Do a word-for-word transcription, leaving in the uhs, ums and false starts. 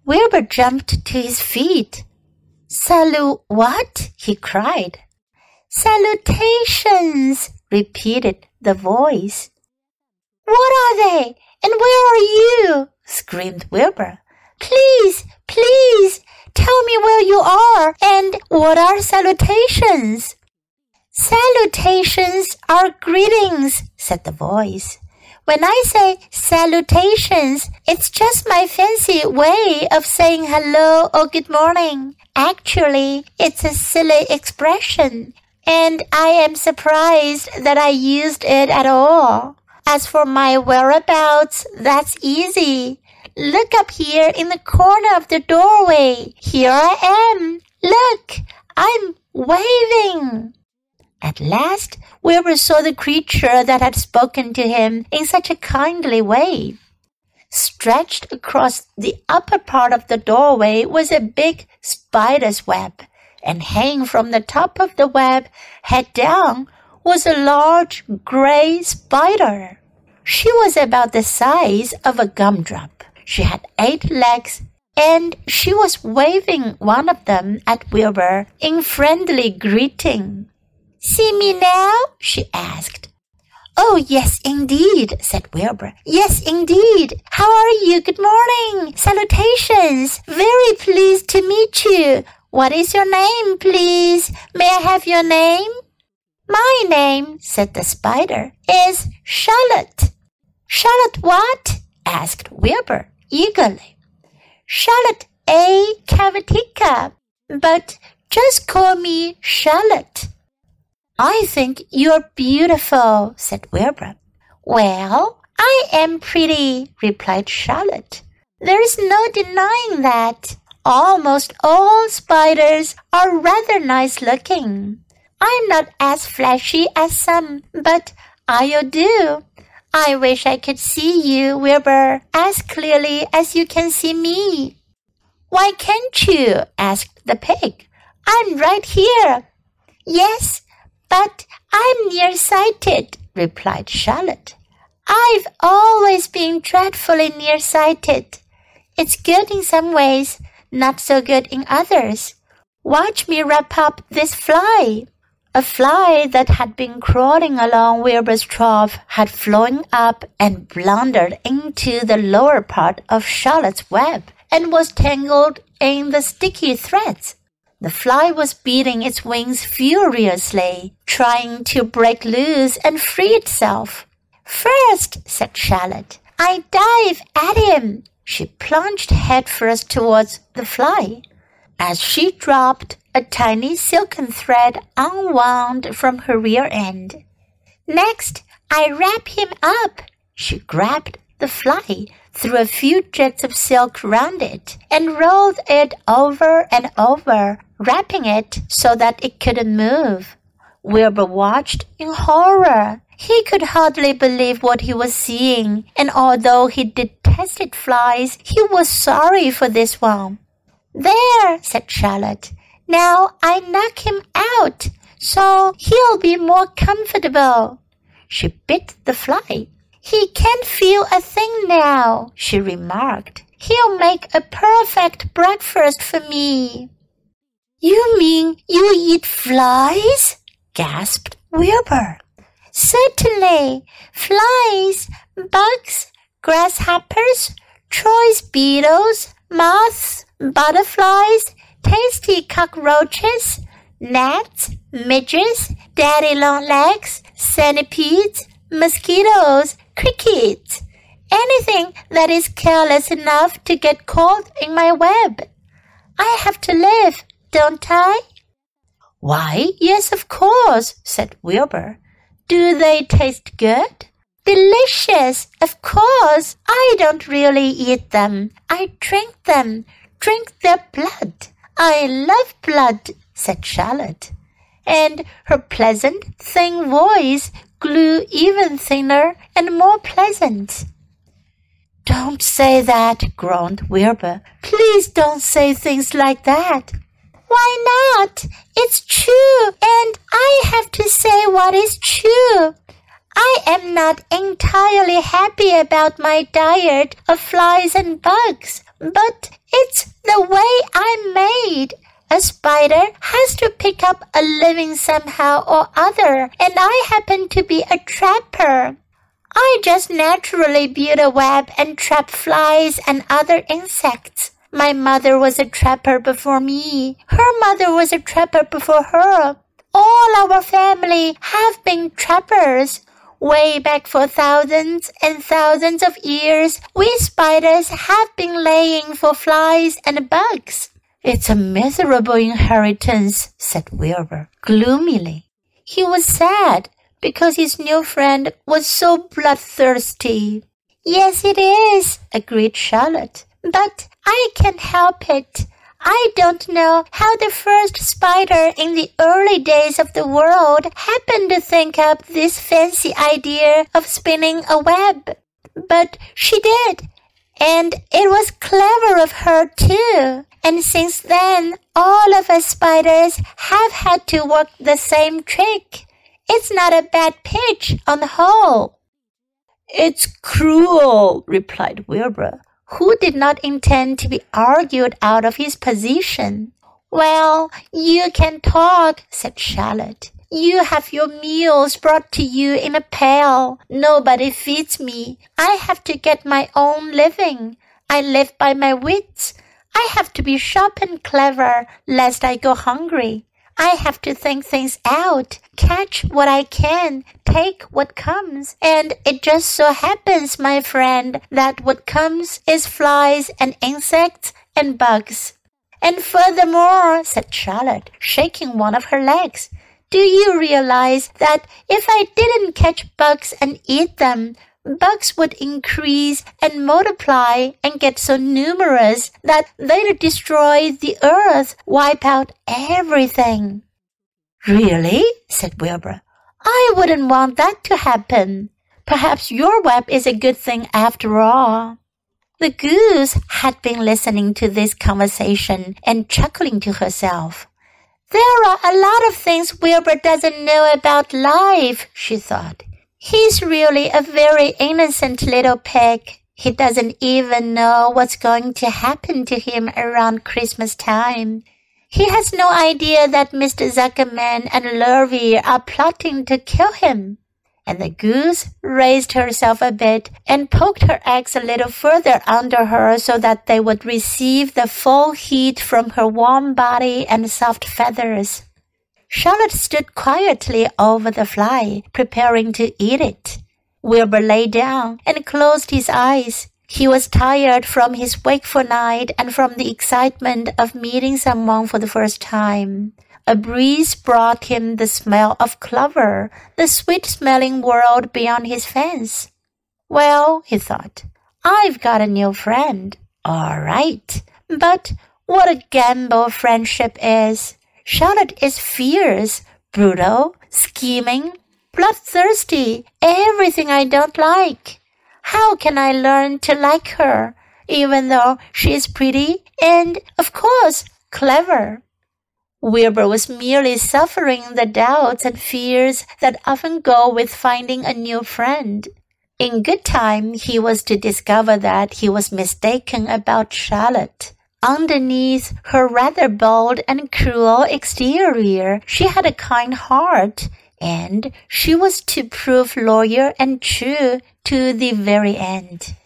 Wilbur jumped to his feet. Salu what? He cried. Salutations, repeated the voice. What are they? And where are you? Screamed Wilbur. Please, please, tell me where you are and what are salutations? Salutations are greetings, said the voice. When I say salutations, it's just my fancy way of saying hello or good morning. Actually, it's a silly expression, and I am surprised that I used it at all. As for my whereabouts, that's easy. Look up here in the corner of the doorway. Here I am. Look, I'm waving. At last, Wilbur saw the creature that had spoken to him in such a kindly way. Stretched across the upper part of the doorway was a big spider's web, and hanging from the top of the web, head down, was a large gray spider. She was about the size of a gumdrop. She had eight legs, and she was waving one of them at Wilbur in friendly greeting. See me now? She asked. Oh, yes, indeed, said Wilbur. Yes, indeed. How are you? Good morning. Salutations. Very pleased to meet you. What is your name, please? May I have your name? My name, said the spider, is Charlotte. Charlotte what? Asked Wilbur eagerly. Charlotte A. Cavatica, but just call me Charlotte. I think you're beautiful, said Wilbur. Well, I am pretty, replied Charlotte. There is no denying that. Almost all spiders are rather nice looking. I'm not as flashy as some, but I'll do. I wish I could see you, Wilbur, as clearly as you can see me. Why can't you? Asked the pig. I'm right here. Yes, but I'm nearsighted, replied Charlotte. I've always been dreadfully nearsighted. It's good in some ways, not so good in others. Watch me wrap up this fly. A fly that had been crawling along Wilbur's trough had flown up and blundered into the lower part of Charlotte's web and was tangled in the sticky threads. The fly was beating its wings furiously, trying to break loose and free itself. First, said Charlotte, I dive at him. She plunged headfirst towards the fly. As she dropped, a tiny silken thread unwound from her rear end. Next, I wrap him up. She grabbed the fly, threw a few jets of silk round it, and rolled it over and over, wrapping it so that it couldn't move. Wilbur watched in horror. He could hardly believe what he was seeing, and although he detested flies, he was sorry for this one. There, said Charlotte. Now I knock him out, so he'll be more comfortable. She bit the fly. He can't feel a thing now, she remarked. He'll make a perfect breakfast for me. You mean you eat flies? Gasped Wilbur. Certainly. Flies, bugs, grasshoppers, choice beetles, moths, butterflies, tasty cockroaches, gnats, midges, daddy-long-legs, centipedes, mosquitoes, crickets, anything that is careless enough to get caught in my web. I have to live, don't I? Why, yes, of course, said Wilbur. Do they taste good? Delicious, of course. I don't really eat them. I drink them, drink their blood. I love blood, said Charlotte, and her pleasant, thin voice grew even thinner and more pleasant. Don't say that, groaned Wilbur. Please don't say things like that. Why not? It's true, and I have to say what is true. I am not entirely happy about my diet of flies and bugs, but it's It's the way I'm made. A spider has to pick up a living somehow or other, and I happen to be a trapper. I just naturally build a web and trap flies and other insects. My mother was a trapper before me. Her mother was a trapper before her. All our family have been trappers. Way back for thousands and thousands of years, we spiders have been laying for flies and bugs. It's a miserable inheritance, said Wilbur gloomily. He was sad because his new friend was so bloodthirsty. Yes, it is, agreed Charlotte. But I can't help it. I don't know how the first spider in the early days of the world happened to think up this fancy idea of spinning a web. But she did, and it was clever of her too. And since then, all of us spiders have had to work the same trick. It's not a bad pitch on the whole. It's cruel, replied Wilbur, who did not intend to be argued out of his position. Well, you can talk, said Charlotte. You have your meals brought to you in a pail. Nobody feeds me. I have to get my own living. I live by my wits. I have to be sharp and clever, lest I go hungry. I have to think things out, catch what I can, take what comes. And it just so happens, my friend, that what comes is flies and insects and bugs. And furthermore, said Charlotte, shaking one of her legs, do you realize that if I didn't catch bugs and eat them, bugs would increase and multiply and get so numerous that they'd destroy the earth, wipe out everything. Really? said Wilbur. I wouldn't want that to happen. Perhaps your web is a good thing after all. The goose had been listening to this conversation and chuckling to herself. There are a lot of things Wilbur doesn't know about life, she thought. He's really a very innocent little pig. He doesn't even know what's going to happen to him around Christmas time. He has no idea that Mister Zuckerman and Lurvy are plotting to kill him. And the goose raised herself a bit and poked her eggs a little further under her so that they would receive the full heat from her warm body and soft feathers. Charlotte stood quietly over the fly, preparing to eat it. Wilbur lay down and closed his eyes. He was tired from his wakeful night and from the excitement of meeting someone for the first time. A breeze brought him the smell of clover, the sweet-smelling world beyond his fence. Well, he thought, I've got a new friend. All right. But what a gamble friendship is. Charlotte is fierce, brutal, scheming, bloodthirsty, everything I don't like. How can I learn to like her, even though she is pretty and, of course, clever? Wilbur was merely suffering the doubts and fears that often go with finding a new friend. In good time, he was to discover that he was mistaken about Charlotte. Underneath her rather bold and cruel exterior, she had a kind heart, and she was to prove loyal and true to the very end.